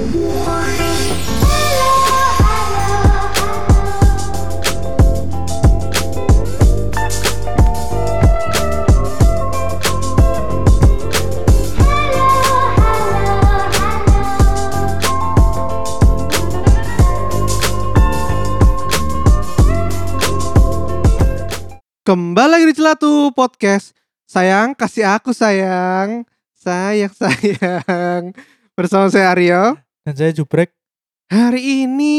Kembali lagi di Celatu Podcast. Sayang, kasih aku sayang. Sayang. Bersama saya Aryo. Dan saya Jubrek. Hari ini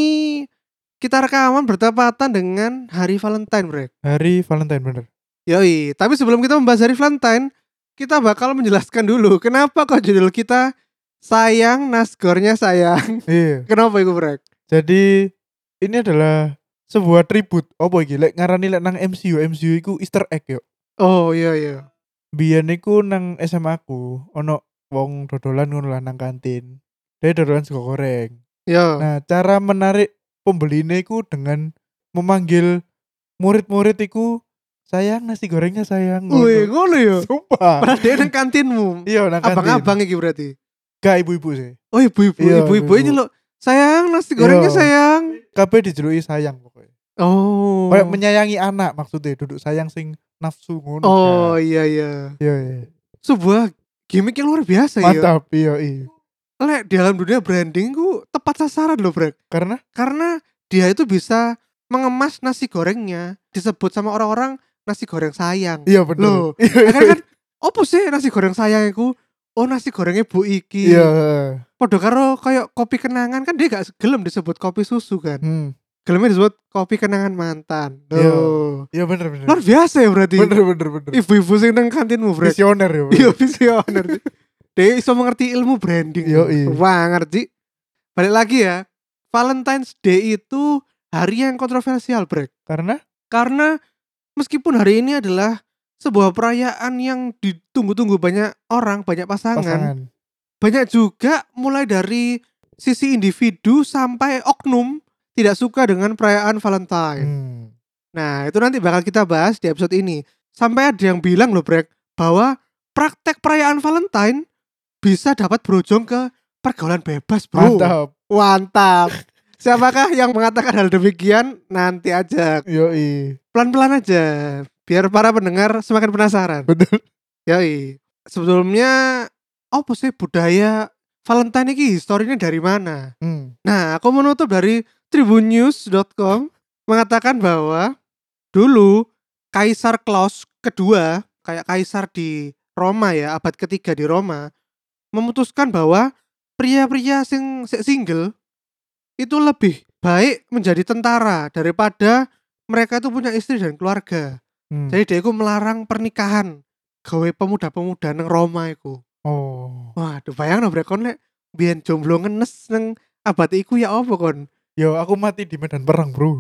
kita rekaman bertepatan dengan Hari Valentine, Brek. Hari Valentine bener. Yoi, tapi sebelum kita membahas Hari Valentine, kita bakal menjelaskan dulu kenapa kok judul kita Sayang Nasgornya Sayang. Iya. Kenapa itu, Brek? Jadi ini adalah sebuah tribut. Apa iki? Lek ngarani lek nang MCU iku Easter egg yo. Oh iya. Biyen iku nang SMA aku ono wong dodolan ngono lah nang kantin. Dia dodolan sego goreng. Yo. Nah, cara menarik pembeline iku dengan memanggil murid-murid iku, sayang nasi gorengnya sayang. Wih, ngono yo. Sumpah. Padahal dia nang kantinmu. Iya nang kantin. Abang-abang iki berarti. Gak ibu-ibu sih. Oh ibu-ibu, Iya, ibu-ibu ibu-ibu. ini loh. Sayang nasi gorengnya Iya. sayang. Kabeh dijeluki sayang pokoknya. Oh. Kayak menyayangi anak maksudnya, duduk sayang sing nafsu ngono. Oh kan. iya. Iya. Sebuah gimmick yang luar biasa ya. Mantap, iya. Lek di dalam dunia branding ku tepat sasaran loh, Brek. Karena dia itu bisa mengemas nasi gorengnya disebut sama orang-orang nasi goreng sayang. Iya bener. Loh, kan opo sih nasi goreng sayang iku? Oh nasi gorengnya Bu Iki. Iya. Podo karo kayak kopi kenangan kan dia gak gelem disebut kopi susu kan. Gelemnya disebut kopi kenangan mantan. Loh. Iya bener. Luar biasa ya berarti. Bener. Ibu-ibu sing nang kantinmu, Brek. Visioner ya. Iya visioner. Dia iso mengerti ilmu branding. Yoi. Wah ngerti. Balik lagi ya. Valentine's Day itu hari yang kontroversial, Brek. Karena meskipun hari ini adalah sebuah perayaan yang ditunggu-tunggu banyak orang, banyak pasangan. Banyak juga mulai dari sisi individu sampai oknum tidak suka dengan perayaan Valentine. Nah itu nanti bakal kita bahas di episode ini. Sampai ada yang bilang loh, Brek, bahwa praktek perayaan Valentine bisa dapat berujung ke pergaulan bebas, bro. Mantap. Siapakah yang mengatakan hal demikian? Nanti aja. Yoi. Pelan-pelan aja. Biar para pendengar semakin penasaran. Betul. Yoi. Sebetulnya apa sih budaya Valentine ini historinya dari mana? Nah, aku menutup dari tribunnews.com mengatakan bahwa dulu Kaisar Klaus kedua, kayak kaisar di Roma ya, abad ketiga di Roma, memutuskan bahwa pria-pria single itu lebih baik menjadi tentara daripada mereka itu punya istri dan keluarga. Jadi dia itu melarang pernikahan gawe pemuda-pemuda nang Roma iku. Oh. Waduh, bayangno brek kon lek biyen jomblo ngenes nang abad iku ya apa kon? Yo aku mati di medan perang, bro.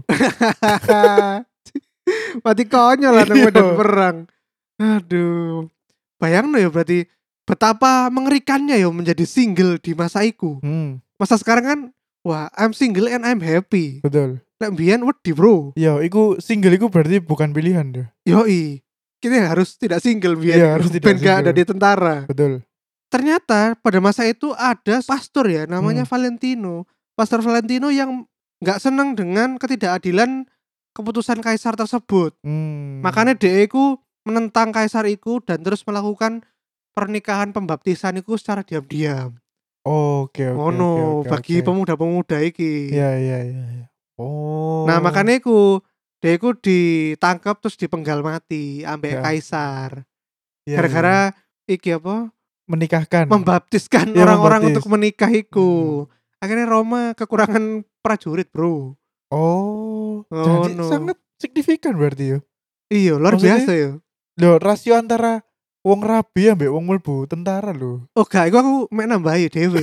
Mati konyol lah nang medan perang. Aduh. Bayangno ya berarti betapa mengerikannya ya menjadi single di masa iku. Masa sekarang kan wah, I'm single and I'm happy. Betul. Lek mbiyen wedi, bro. Yo, iku single iku berarti bukan pilihan deh. Yoi. Kita harus tidak single biar Iya, harus tidak gak ada single. di tentara. Betul. Ternyata pada masa itu ada pastor ya namanya Valentino. Pastor Valentino yang gak senang dengan ketidakadilan keputusan kaisar tersebut. Makanya dia iku menentang kaisar iku dan terus melakukan pernikahan pembaptisan iku secara diam-diam. Oke. Bagi pemuda-pemuda iki. Iya. Oh. Nah makanya iku dia iku ditangkap terus dipenggal mati ambek Ya. kaisar. Iya, Gara-gara iki apa? menikahkan. Membaptiskan Iya, orang-orang membaptis. untuk menikah iku. Akhirnya Roma kekurangan prajurit, bro. Oh. Oh, Jadi no. sangat signifikan berarti ya. Iya, luar Maksudnya- biasa ya. Loh, rasio antara wong rabi ambek wong mlebu tentara lho. Oh gak, iku aku mek nambahi dhewe.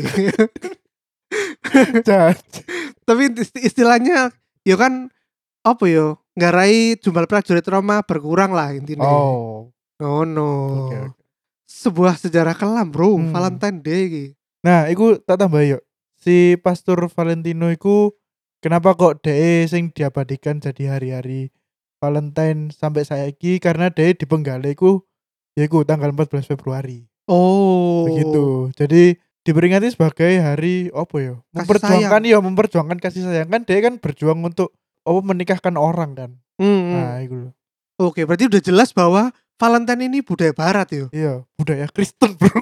Tapi istilahnya ya kan apa ya? Ngarai jumlah prajurit Roma berkurang lah intinya. Oh. no. Oke. Sebuah sejarah kelam, bro. Hmm. Valentine Day iki. Nah, iku tak tambah yuk. Si Pastor Valentino iku kenapa kok DE sing diabadikan jadi hari-hari Valentine sampai saiki karena DE dipenggal iku yaiku tanggal 14 Februari. Oh. Begitu. Jadi diperingati sebagai hari apa ya? Memperjuangkan kasih sayang kan dia kan berjuang untuk menikahkan orang kan. Nah, Hmm. itu loh. Oke, berarti udah jelas bahwa Valentine ini budaya barat yo. Iya, budaya Kristen, Bro.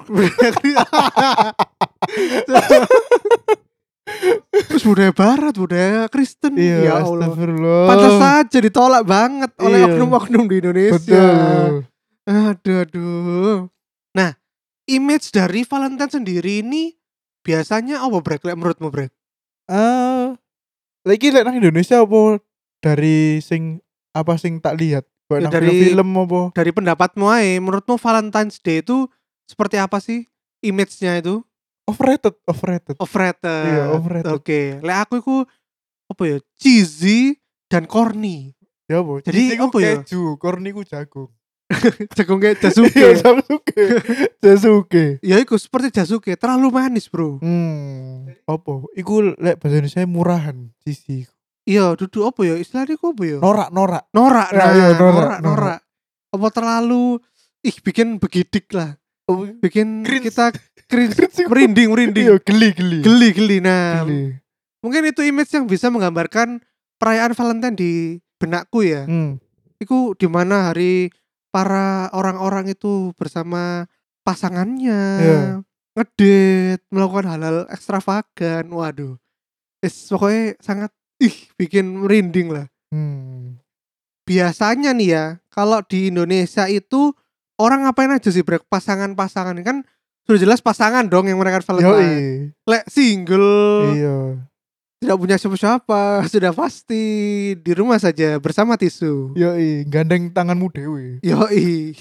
Terus budaya barat, budaya Kristen. Iya, Ya Allah. Pantas astagfirullah. saja ditolak banget oleh Iya, oknum-oknum di Indonesia. betul. Aduh, aduh. Nah, image dari Valentine sendiri ini biasanya apa Brek? Lek menurutmu Brek? Eh, lagi lek nang Indonesia apa dari sing tak lihat? Kayak Ya nang dari film-film apa? pendapatmu aja, menurutmu Valentine's Day itu seperti apa sih image-nya itu? Overrated, overrated. Iya, Overrated. overrated. Oke, lek aku itu apa ya? Cheesy dan corny. Ya apa? Jadi Cheesy ku apa ya? keju, corny ku jagung. Jagung kayak Iya, Jasuke. Sasuke. Sasuke. Ya iku seperti Jasuke, terlalu manis, Bro. Apa? Iku lek bahasa Indonesia murahan, cheesy. Iya, duduk apa ya? Istilahnya iku apa ya? Norak. Norak. Ya, Nah, iya, norak. norak. Apa terlalu bikin begidik lah. Oh, Bikin cringe. kita cringe, Cringe iku. merinding. Iya, geli. Geli. Nah, Geli. mungkin itu image yang bisa menggambarkan perayaan Valentine di benakku ya. Iku dimana hari para orang-orang itu bersama pasangannya, Iya. ngedate, melakukan hal-hal ekstravagan. Waduh, pokoknya sangat bikin merinding lah. Biasanya nih ya, kalau di Indonesia itu orang ngapain aja sih Brek? Pasangan-pasangan kan sudah jelas pasangan dong yang merayakan Valentine. Yoi. Lek single, Iya. tidak punya siapa-siapa, sudah pasti di rumah saja bersama tisu. Yoi, gandeng tanganmu dewe. Yoi.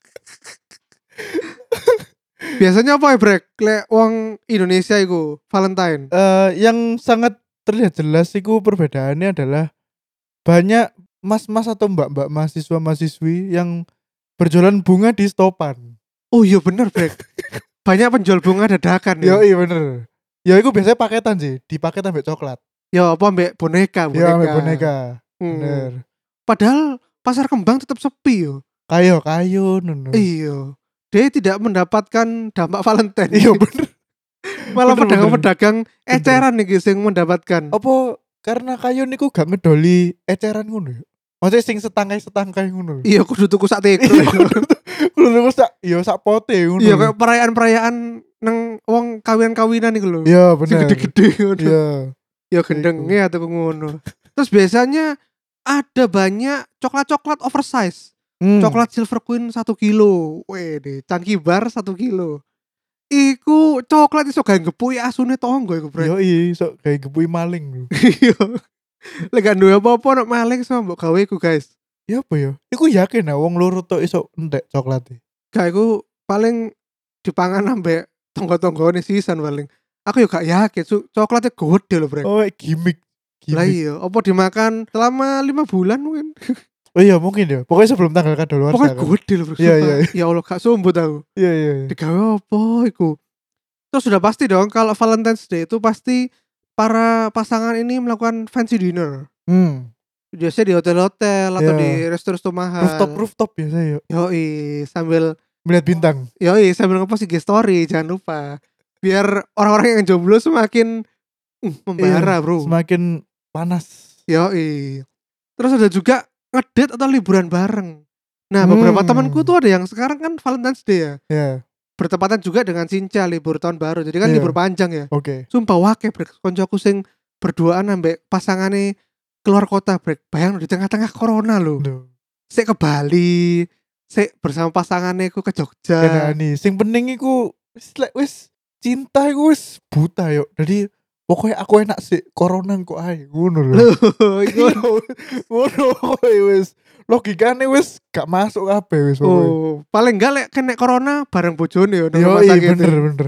Biasanya apa ya Brek? Lek wong Indonesia itu Valentine. Yang sangat terlihat jelas iku perbedaannya adalah banyak mas-mas atau mbak-mbak mahasiswa-mahasiswi yang berjualan bunga di stopan. Oh iya bener Brek. Banyak penjual bunga dadakan Yo ya. iya bener. Ya itu biasanya paketan sih, dipaket ambek coklat. Ya apa ambek boneka. Ya ambek boneka. Hmm. Bener. Padahal pasar kembang tetap sepi yo. Kayu nono. Iya. Dia tidak mendapatkan dampak Valentine. Iya bener. Malah Bener. pedagang-pedagang eceran nih guys yang mendapatkan. Apa karena kayu niku gak ngedoli eceran ngono ya? Maksudnya sing setangkai ngono. Iya kudu tuku sak teko. Kudu tuku sak pote ngono. Iya kayak perayaan-perayaan nang wong kawinan-kawinan iku lho. Iya Sing bener. gede-gede ngono. Iya. Ya gendenge atau ngono. Terus biasanya ada banyak coklat-coklat oversize. Coklat Silver Queen 1 kilo. Wede, Chunky Bar 1 kilo. Iku coklat iso gawe ngepui asune tonggo iku, Bro. Yo iso kayak gepui maling lho. Iya. Lek gak duwe apa-apa nek maling sama mbok gawe iku, guys. Ya apa ya? Iku yakin lah wong loro tok iso entek coklat. Gak iku paling dipangan ambek tonggo-tonggone sisan paling. Aku yo gak yakin coklatnya gede lho, Bro. Oh, gimmick. Lah iya, apa dimakan selama 5 bulan mungkin. Oh iya mungkin ya. Pokoknya sebelum tanggal kadaluarsa Pokoknya kan. gede lho, Bro. Iya. Ya Allah, gak sumbut aku. Iya. Digawe apa iku? Terus sudah pasti dong kalau Valentine's Day itu pasti para pasangan ini melakukan fancy dinner. Biasanya di hotel-hotel atau di resto-resto mahal. Rooftop biasa ya. Yoi, sambil Melihat bintang. Yoi, sambil ngepost IG story, jangan lupa. Biar orang-orang yang jomblo semakin membara, Iya, Bro. semakin panas. Yoi. Terus ada juga ngedate atau liburan bareng. Nah, beberapa temanku tuh ada yang sekarang kan Valentine's Day ya. Iya. Bertepatan juga dengan Cinca libur tahun baru. Jadi kan Iya. libur panjang ya. Oke. Sumpah wake brek koncoku sing berduaan ambek pasangane keluar kota brek. Bayang di tengah-tengah corona lho. Sik ke Bali, sik bersama pasangannya ku ke Jogja. Nah, nih, sing penting iku wis cinta iku wis buta yo. Jadi pokoknya aku enak sih corona kok ae ngono lho. Iku Ngono wis logikane wis gak masuk kabeh wis pokoknya. oh, paling enggak lek kena corona bareng bojone yo nang Yo rumah sakit. bener.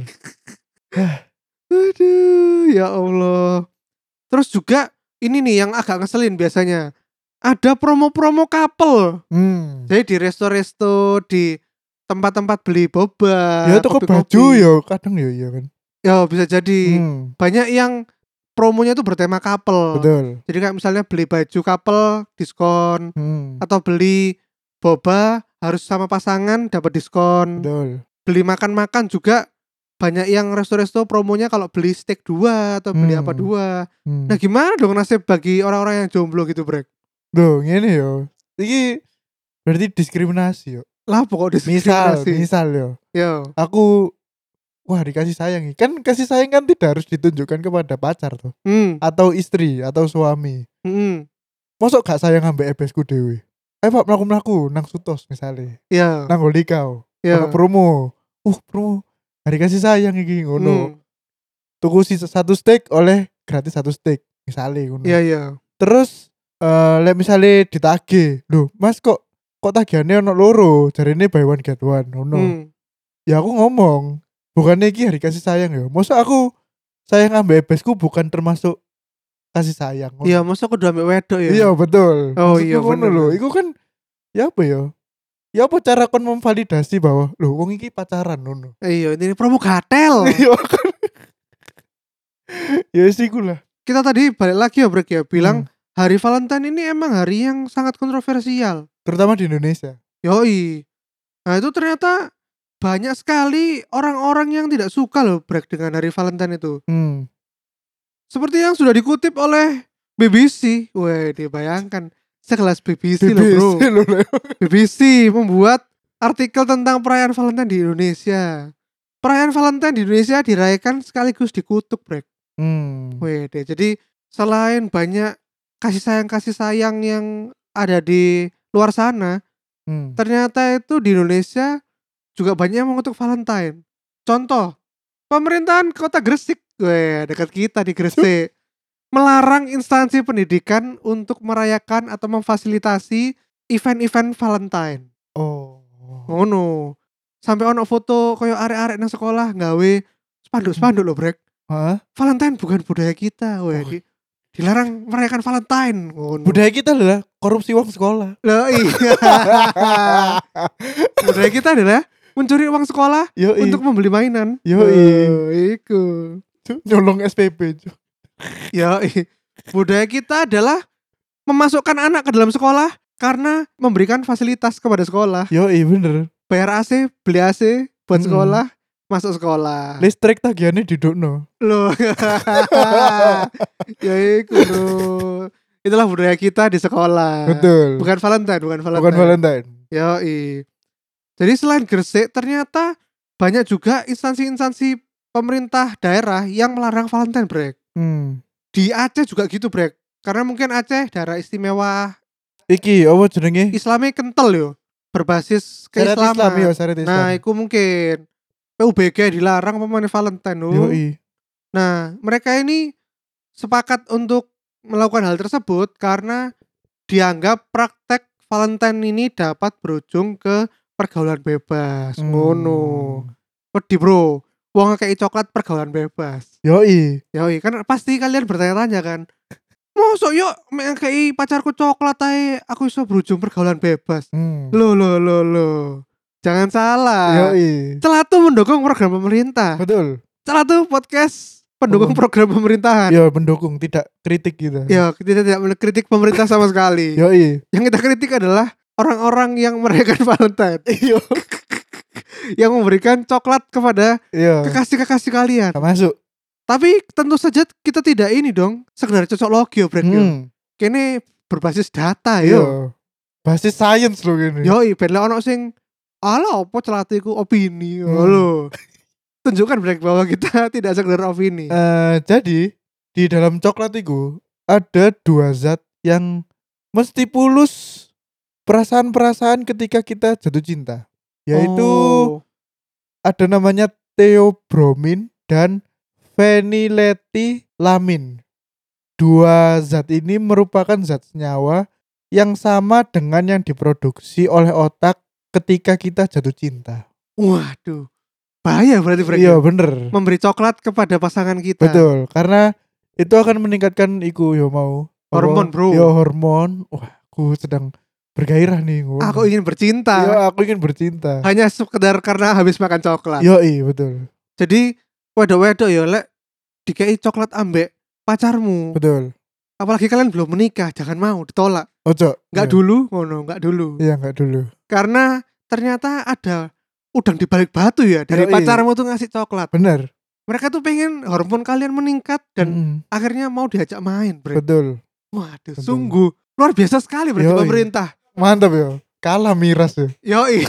Aduh, ya Allah. Terus juga ini nih yang agak ngeselin biasanya. Ada promo-promo couple. Jadi di resto-resto, di tempat-tempat beli boba, Ya toko baju yo kadang yo iya kan. Ya bisa jadi. Banyak yang promonya itu bertema couple. Betul. Jadi kayak misalnya beli baju couple diskon atau beli boba harus sama pasangan dapat diskon. Betul. Beli makan-makan juga banyak yang resto-resto promonya kalau beli steak 2 atau beli apa 2. Nah, gimana dong nasib bagi orang-orang yang jomblo gitu, Brek? Loh, ngene yo. Iki berarti diskriminasi yo. Lah pokok Misal diskriminasi. yo. Yo. Aku dikasih sayang. Kan kasih sayang kan tidak harus ditunjukkan kepada pacar tuh. Atau istri atau suami. Mosok gak sayang ambek ebesku dhewe. Ayo Pak mlaku-mlaku nang Sutos misalnya. Iya. Nang Holikau. Iya. Ono promo. Promo. Hari kasih sayang iki ngono. Tuku satu steak oleh gratis satu steak misalnya ngono. Iya. Terus lek misalnya ditagih. Loh, Mas kok tagihannya ono loro, jarine buy one get one ngono. Ya aku ngomong, bukannya iki hari kasih sayang ya. Masa aku sayang ambek ebesku bukan termasuk kasih sayang. Iya, masa aku udah ambek wedok ya. Iya, betul. Oh Maksudku iya ngono bener. lho. Iku kan ya apa ya? Ya apa cara kon memvalidasi bahwa lho wong iki pacaran ngono. Iya, ini promo gatel. Iya kan. Ya sih lah. Kita tadi balik lagi ya, Brek ya, bilang hari Valentine ini emang hari yang sangat kontroversial, terutama di Indonesia. Yoi. Nah, itu ternyata banyak sekali orang-orang yang tidak suka loh, Brek, dengan hari Valentine itu. Seperti yang sudah dikutip oleh BBC. Wah, dibayangkan sekelas BBC loh, Bro. BBC membuat artikel tentang perayaan Valentine di Indonesia. Perayaan Valentine di Indonesia dirayakan sekaligus dikutuk, Brek. Wede. Jadi selain banyak kasih sayang yang ada di luar sana, ternyata itu di Indonesia juga banyak yang mengutuk Valentine. Contoh, pemerintahan Kota Gresik, dekat kita di Gresik, melarang instansi pendidikan untuk merayakan atau memfasilitasi event-event Valentine. Ngono. Sampai ono foto koyo arek-arek nang sekolah nggawe spanduk-spanduk lho, Brek. Valentine bukan budaya kita, dilarang merayakan Valentine. Budaya kita adalah korupsi uang sekolah. Lah iya. Budaya kita adalah mencuri uang sekolah untuk membeli mainan. Iku. Nyolong SPP. Budaya kita adalah memasukkan anak ke dalam sekolah karena memberikan fasilitas kepada sekolah. Bener. Bayar AC, beli AC buat sekolah. Masuk sekolah. Listrik tagihannya didukno. Loh. Ya iku lho. Itulah budaya kita di sekolah. Betul. Bukan Valentine. Yoi. Jadi selain Gresik ternyata banyak juga instansi-instansi pemerintah daerah yang melarang Valentine, Brek. Di Aceh juga gitu, Brek. Karena mungkin Aceh daerah istimewa. Iki apa jenenge? Islamnya kental yo. Berbasis keislaman. Nah, iku mungkin PUBG dilarang pemain Valentine loh. Nah, mereka ini sepakat untuk melakukan hal tersebut karena dianggap praktek Valentine ini dapat berujung ke pergaulan bebas. Ngono. Wedi, Bro. Wong ngekei coklat pergaulan bebas. Yoi, kan pasti kalian bertanya-tanya kan. Mosok yo ngekei pacarku coklat ae aku iso berujung pergaulan bebas. Loh. Jangan salah. Celatu mendukung program pemerintah. Betul. Celatu podcast pendukung program pemerintahan. Mendukung, tidak kritik gitu. Kita tidak mengkritik pemerintah sama sekali. Yang kita kritik adalah orang-orang yang merayakan Valentine. Yang memberikan coklat kepada kekasih-kekasih kalian. Masuk. Tapi tentu saja kita tidak ini dong sekedar cocok logi Brek. Kene berbasis data basis science loh gini. Ben ono sing ala apa celatiku opini. Halo. Tunjukkan Brek bahwa kita tidak sekedar opini. Jadi di dalam coklat itu ada 2 zat yang mesti pulus perasaan-perasaan ketika kita jatuh cinta. Yaitu ada namanya theobromine dan phenyletilamin. 2 zat ini merupakan zat senyawa yang sama dengan yang diproduksi oleh otak ketika kita jatuh cinta. Waduh. Bahaya berarti Brek. Bener. Memberi coklat kepada pasangan kita. Betul, karena itu akan meningkatkan hormon, Bro. Hormon. Wah, aku sedang bergairah nih. Aku ingin bercinta. Aku ingin bercinta. Hanya sekedar karena habis makan coklat. Betul. Jadi wedok-wedok lek dikei coklat ambek pacarmu. Betul. Apalagi kalian belum menikah, jangan mau ditolak. Ojo. Enggak dulu, ngono, enggak dulu. Enggak dulu. Karena ternyata ada udang di balik batu ya dari Yoi. pacarmu tuh ngasih coklat. Bener. Mereka tuh pengen hormon kalian meningkat dan Mm-mm. akhirnya mau diajak main, Bre. Betul. Waduh, Betul. sungguh luar biasa sekali berarti Yoi. pemerintah. Mantap ya. Kalah miras ya. Yoi.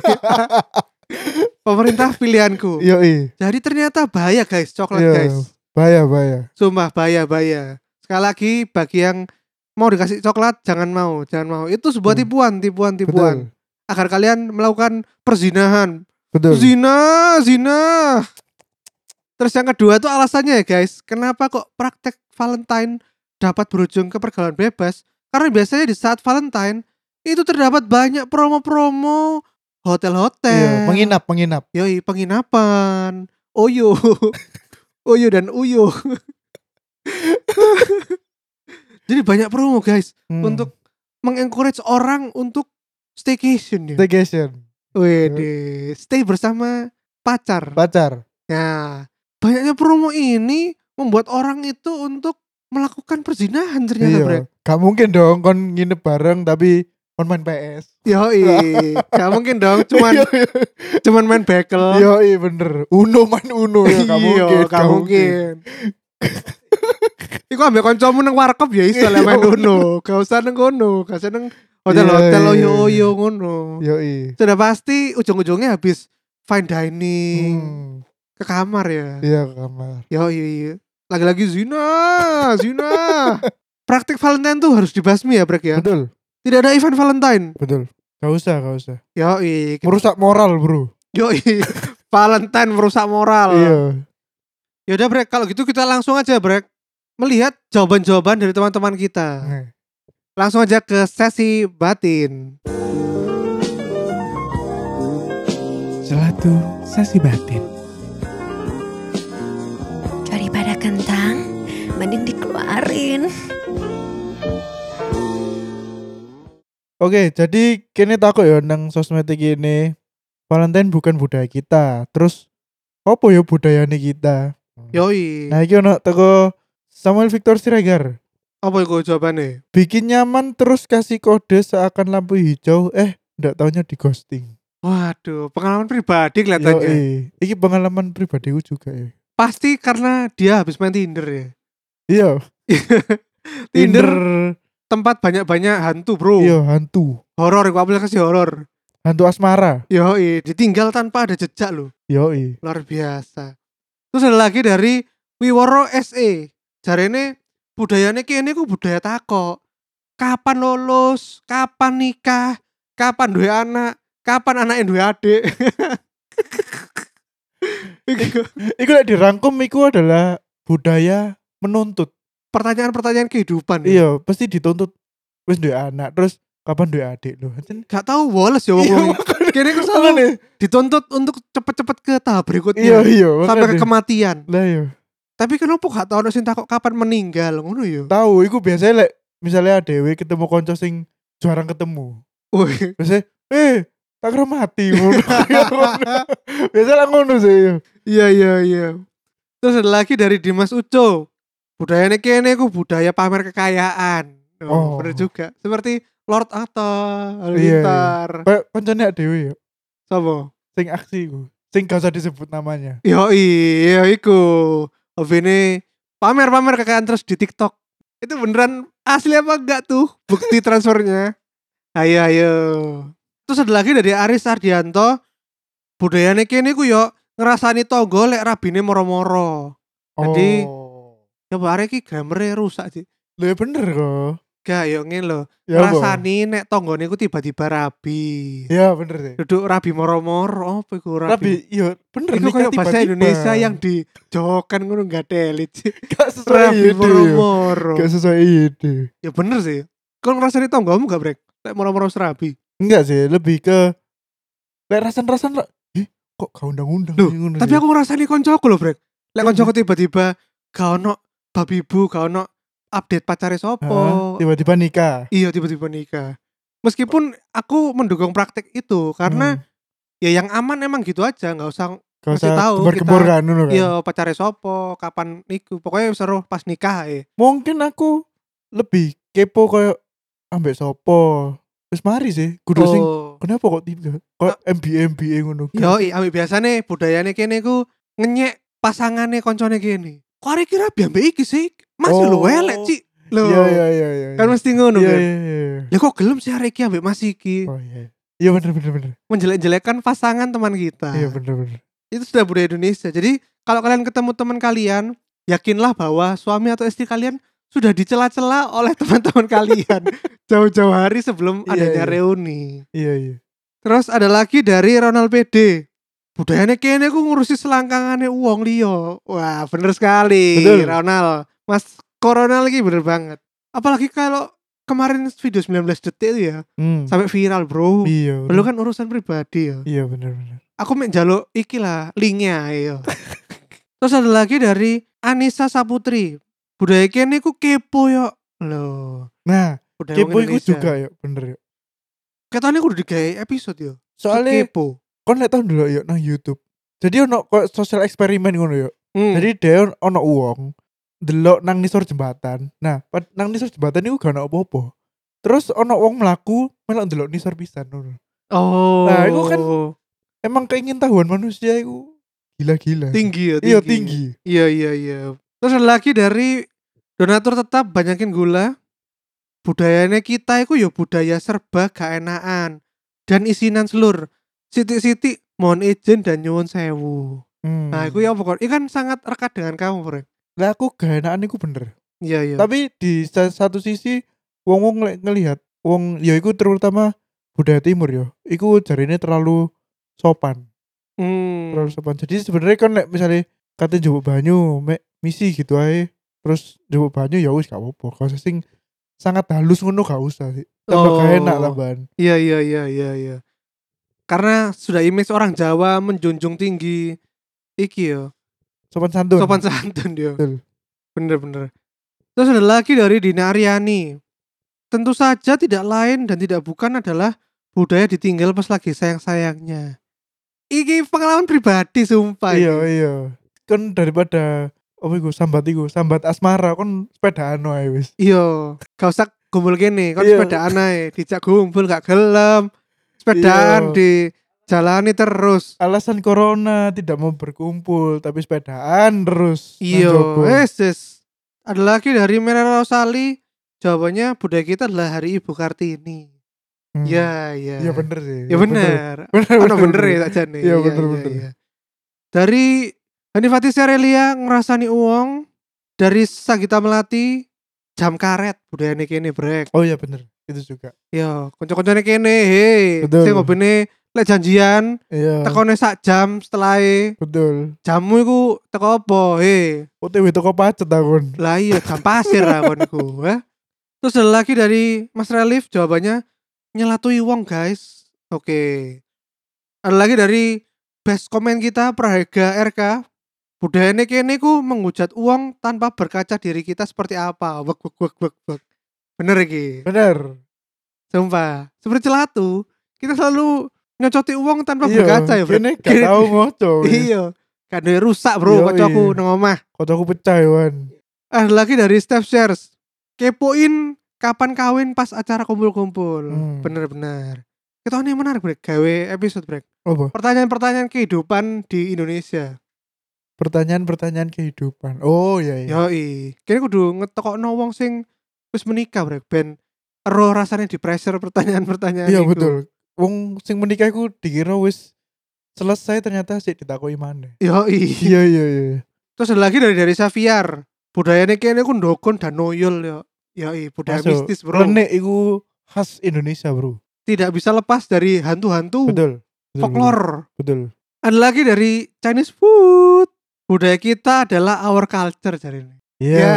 Pemerintah pilihanku. Yoi. Jadi ternyata bahaya guys, coklat Iya. guys. Bahaya. Sumpah bahaya. Sekali lagi bagi yang mau dikasih coklat jangan mau. Itu sebuah tipuan. Betul. Agar kalian melakukan perzinahan. Betul. Zina. Terus yang kedua tuh alasannya ya guys, kenapa kok praktek Valentine dapat berujung ke pergaulan bebas? Karena biasanya di saat Valentine itu terdapat banyak promo-promo hotel-hotel. Iya, menginap. Yoi, penginapan. Oyo. Oyo dan Uyo. Jadi banyak promo guys untuk mengencourage orang untuk staycation ya. Wede, stay bersama pacar. Ya, banyaknya promo ini membuat orang itu untuk melakukan perzinahan ternyata, Iya. Bre. Gak mungkin dong kon nginep bareng tapi kon main PS. Yoi, gak mungkin dong cuman main bekel. Yoi bener. Main Uno ya Gak mungkin. Iku ambek kancamu nang warkop ya iso lah main Uno. Gak usah nang kono, gak usah nang hotel-hotel oyo-oyo ngono. Yoi. Sudah pasti ujung-ujungnya habis fine dining. Ke kamar ya. Iya, ke kamar. Yoi. Lagi-lagi zina. Praktik Valentine tuh harus dibasmi ya, Brek ya. Betul. Tidak ada event Valentine. Betul. Gak usah. Yoi. Merusak moral, bro. Yoi. Valentine merusak moral. Iya. Yaudah, Brek, kalau gitu kita langsung aja, Brek, melihat jawaban-jawaban dari teman-teman kita. Langsung aja ke sesi batin. Selatu sesi batin. Daripada kentang, mending dikeluarin. Oke, jadi kini takut ya nang sosmed ini Valentine bukan budaya kita. Terus apa ya budayane kita? Yoi. Nah, iki ono teko Samuel Victor Siregar. Apa itu jawabannya? Bikin nyaman terus kasih kode seakan lampu hijau, ndak taunya di ghosting. Waduh, pengalaman pribadi kelihatannya. Iki pengalaman pribadiku juga ya. Pasti karena dia habis main Tinder ya. Iya. Tinder tempat banyak-banyak hantu, bro. Iya, hantu. Horor, aku aplikasi horor. Hantu asmara. Yoi, ditinggal tanpa ada jejak loh. Yoi. Luar biasa. Terus ada lagi dari Wiworo SE. Jarene budayane kene ku budaya takok. Kapan lulus? Kapan nikah? Kapan duwe anak? Kapan anaknya duwe adik? Iku lek dirangkum iku adalah budaya menuntut. Pertanyaan-pertanyaan kehidupan. Iya, pasti dituntut wis duwe anak, terus kapan duwe adik lho. Gak tahu woles ya wong. Kene ku selalu dituntut untuk cepet-cepet ke tahap berikutnya. Iya, sampai ke kematian. Lah iya. Tapi kenapa gak tau ono sing takok kapan meninggal ngono ya? Tahu, iku biasanya lek misalnya adewe ketemu konco sing jarang ketemu. Wih, Biasanya, tak kira mati ngono. Biasanya ngono sih. Iya. Terus ada lagi dari Dimas Uco. Budayanya kene ku budaya pamer kekayaan. Oh. Bener juga. Seperti Lord Atta, Iya. Halilintar. Kayak koncone adewe ya. Sopo? Sing aksi iku. Sing gak usah disebut namanya. Iya iku. Hobinya pamer kekayaan terus di TikTok. Itu beneran asli apa enggak tuh bukti transfernya? Ayo. Terus ada lagi dari Aris Ardianto. Budayanya kene ku yo ngerasani tonggo lek rabine moro-moro. Jadi ya barek iki grammar rusak sih. Lho ya bener kok. Gak yo ngene lho. Ya apa? Rasani nek tonggone ku tiba-tiba rabi. Ya bener sih. Duduk rabi moro-moro apa iku rabi? Tapi iya bener Iku nikah kayak bahasa tiba-tiba. Indonesia yang dijokan ngono enggak telit sih. Gak sesuai Rabi ide. moro-moro. Gak sesuai ide. Ya bener sih. Kau ngerasani tonggomu gak brek? Lek moro-moro serabi. Enggak sih, lebih ke lek rasan-rasan lah. Kok gak undang-undang Loh, sih, ngono tapi sih. aku ngerasani koncoku lho brek. Lek Iya, koncoku tiba-tiba gak ono babi bu, gak ono update pacare sopo. tiba-tiba nikah. Iya tiba-tiba nikah. Meskipun aku mendukung praktek itu karena ya yang aman emang gitu aja, nggak usah Gak ngasih usah tahu gembar-gembor kita. kan ngono kan. Iya pacare sopo, kapan niku. Pokoknya seru pas nikah Mungkin aku lebih kepo kayak ambek sopo. Wis mari sih, kudu sing kenapa kok tiba? Kok MBA ngono. Yo, ambek biasane budayane kene ku ngenyek pasangane koncone kene. Kok arek kira biambe iki sih? Masih lho elek, Cik. Loh. Iya. Kan mesti ngono kan. Iya. Ya kok gelem sih arek iki ambek Mas iki? Oh iya. Iya bener. Menjelek-jelekan pasangan teman kita. Iya bener. Itu sudah budaya Indonesia. Jadi kalau kalian ketemu teman kalian, yakinlah bahwa suami atau istri kalian sudah dicela-cela oleh teman-teman kalian jauh-jauh hari sebelum adanya reuni. Iya. Terus ada lagi dari Ronald PD. Budayanya kene ku ngurusi selangkangane uang liyo. Wah, bener sekali. Betul. Ronald. Mas Corona lagi bener banget. Apalagi kalau kemarin video 19 detik itu ya, sampai viral, Bro. Iya. Lu kan urusan pribadi ya. Iya bener. Aku mek njaluk iki lah linknya ayo. Terus ada lagi dari Anissa Saputri. Budaya kene ku kepo yo. Loh. Nah, Budaya kepo wong iku Indonesia. juga ya, bener ya. Katanya kudu digawe episode yo. Soalnya kepo. kon lek tau dulu ya nang YouTube. Jadi ono kok sosial eksperimen ngono ya. Jadi dia ono uang delok nang nisor jembatan. Nah, nang nisor jembatan iku gak ono apa-apa. Terus ono wong mlaku melok delok nisor pisan ngono. Oh. Nah, itu kan emang keingintahuan manusia itu gila-gila. Tinggi ya, Iya, tinggi. Iya. Terus ada lagi dari donatur tetap banyakin gula. Budayanya kita itu ya budaya serba gak enakan dan isinan selur. Siti-siti mohon izin dan nyuwun sewu. Nah, itu ya pokoknya kan sangat rekat dengan kamu, Bro. Lah aku gak enakan iku bener. Iya. Tapi di satu sisi wong ngelihat wong ya iku terutama budaya timur ya. Iku jarine terlalu sopan. Terlalu sopan. Jadi sebenarnya kan misalnya katanya jupuk banyu, misi gitu aja. Terus jupuk banyu ya wis gak apa-apa. Kalau sing sangat halus ngono gak usah sih. Tambah gak enak tambahan. Iya. Karena sudah image orang Jawa menjunjung tinggi iki yo. Sopan santun dia. Betul. Bener. Terus ada lagi dari Dina Aryani. Tentu saja tidak lain dan tidak bukan adalah budaya ditinggal pas lagi sayang-sayangnya. Iki pengalaman pribadi sumpah. Iya. Kan daripada sambat asmara kan sepedaan wae wis. Iya, gak usah gumpul kene, kan Iya. sepedaan ae, dijak gumpul gak gelem. Sepedaan di jalani terus. Alasan corona tidak mau berkumpul tapi sepedaan terus. Iya, Nang jopo. Ada lagi dari Merah Rosali. Jawabannya budaya kita adalah Hari Ibu Kartini. Iya. Iya bener sih. Ya bener. Bener ya saja nih. Iya bener. Dari Hanifati Serelia ngerasani uang. Dari Sagita Melati jam karet budaya kene brek. Oh iya bener. Itu juga. Yo, kanca-kancane kene, hei. Betul. Sing ngobene lek janjian Iya. tekone sak jam setelahe. Betul. Jamu iku teko apa? Hei. OTW toko pacet akun. Lah iya jam pasir akonku, ya. Terus ada lagi dari Mas Relif jawabannya nyelatui wong, guys. Oke. Ada lagi dari best komen kita Praharga RK. Budayane kene ku menghujat uang tanpa berkaca diri kita seperti apa. Wek. Bener iki. Bener. Sumpah. Seperti celatu, kita selalu nyocoti uang tanpa Iya, berkaca ya, bro. kene gak tau ngoco. Iya. Kan rusak, bro, Iya, kocokku iya. nang omah. Kocoku pecah Wan. Ada lagi dari Steph Shares. Kepoin kapan kawin pas acara kumpul-kumpul. Bener-bener. Kita ini menarik, Brek. Gawe episode, Brek. Apa? Pertanyaan-pertanyaan kehidupan di Indonesia. Pertanyaan kehidupan. Oh iya. Yoi. Kayaknya kudu ngetokokno wong sing wis menikah, Brek. Ben ero rasanya di pressure pertanyaan-pertanyaan Iya iku. betul. Wong sing menikah iku dikira wis selesai ternyata sih ditakoki maneh. Yoi. Iya. Terus ada lagi dari Xavier. Budayanya kayaknya ku ndokon dan noyol ya. Yoi, budaya Masuk. mistis, bro. Renek iku khas Indonesia, bro. Tidak bisa lepas dari hantu-hantu. Betul. Folklore. Betul. Ada lagi dari Chinese food. Budaya kita adalah our culture jadi ini. Iya.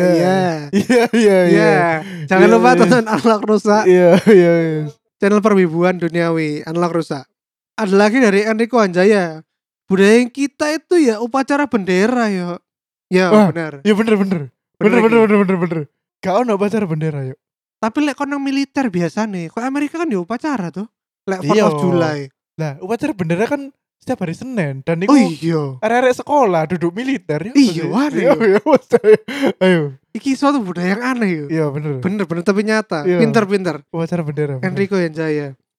Jangan Iya, lupa iya. tonton Analog Rusak, Iya. channel perwibuan duniawi Analog Rusak. Ada lagi dari Enrico Anjaya. Budaya kita itu ya upacara bendera ya. Ya Wah, benar. Iya bener. Bener. Gak ono upacara bendera yuk. Tapi lek kon nang militer biasa nih. Kok Amerika kan ya upacara tuh. Lek 4 Iya. of July. Lah, upacara bendera kan setiap hari Senin dan itu Oh iya. arek-arek sekolah duduk militer ya. Iya, waduh. Iya, ayo. Iki suatu budaya yang aneh ya. Iya bener. Bener tapi nyata. Iya. Pinter. Upacara bendera. bener. Enrico Anjaya.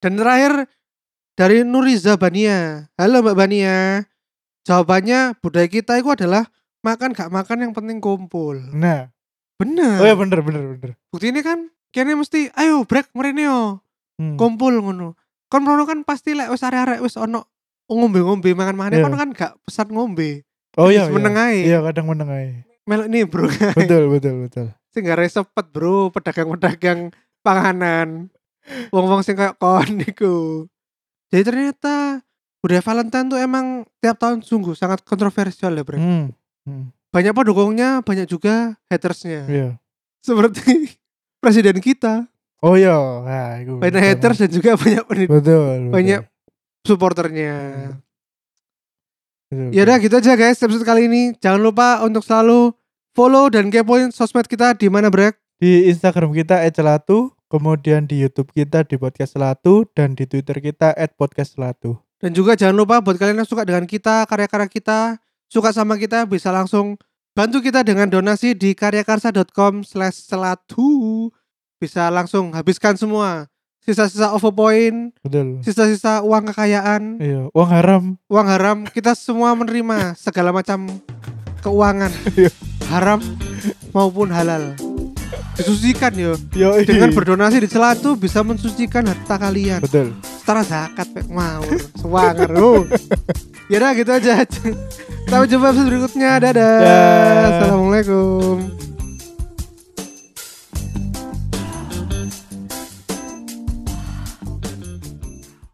Dan terakhir dari Nuriza Bania. Halo Mbak Bania. Jawabannya budaya kita itu adalah makan gak makan yang penting kumpul. Nah. Bener. Oh ya bener. Bukti ini kan kayaknya mesti ayo break mrene yo. Kumpul ngono. Kon rono kan pasti lek wis arek-arek wis ono ngombe-ngombe mangan-mangan Iya. kon kan gak pesan ngombe. Oh iya. Meneng ae. Iya kadang meneng ae. Melok nih bro. Betul. Sing gak resepet bro, pedagang-pedagang panganan. Wong-wong sing kayak kon niku. Jadi ternyata budaya Valentine tuh emang tiap tahun sungguh sangat kontroversial ya bro. Banyak pendukungnya, banyak juga hatersnya. Iya. Seperti presiden kita. Oh iya. Nah, itu. Banyak haters dan juga banyak Betul. banyak supporternya. Betul. Ya udah gitu aja guys episode kali ini. Jangan lupa untuk selalu follow dan kepoin sosmed kita di mana Brek? Di Instagram kita @celatu, kemudian di YouTube kita di Podcast Celatu dan di Twitter kita @podcastcelatu. Dan juga jangan lupa buat kalian yang suka dengan kita, karya-karya kita, suka sama kita bisa langsung bantu kita dengan donasi di karyakarsa.com/celatu. Bisa langsung habiskan semua sisa-sisa OVO point, Betul. sisa-sisa uang kekayaan, Iya, uang haram. kita semua menerima segala macam keuangan Iya. haram maupun halal. Disucikan yo. Yo, Dengan berdonasi di Celatu bisa mensucikan harta kalian. betul. Setara zakat pek ngawur. Sewanger. Ya udah gitu aja. Sampai jumpa episode berikutnya. Dadah. Dah. Assalamualaikum.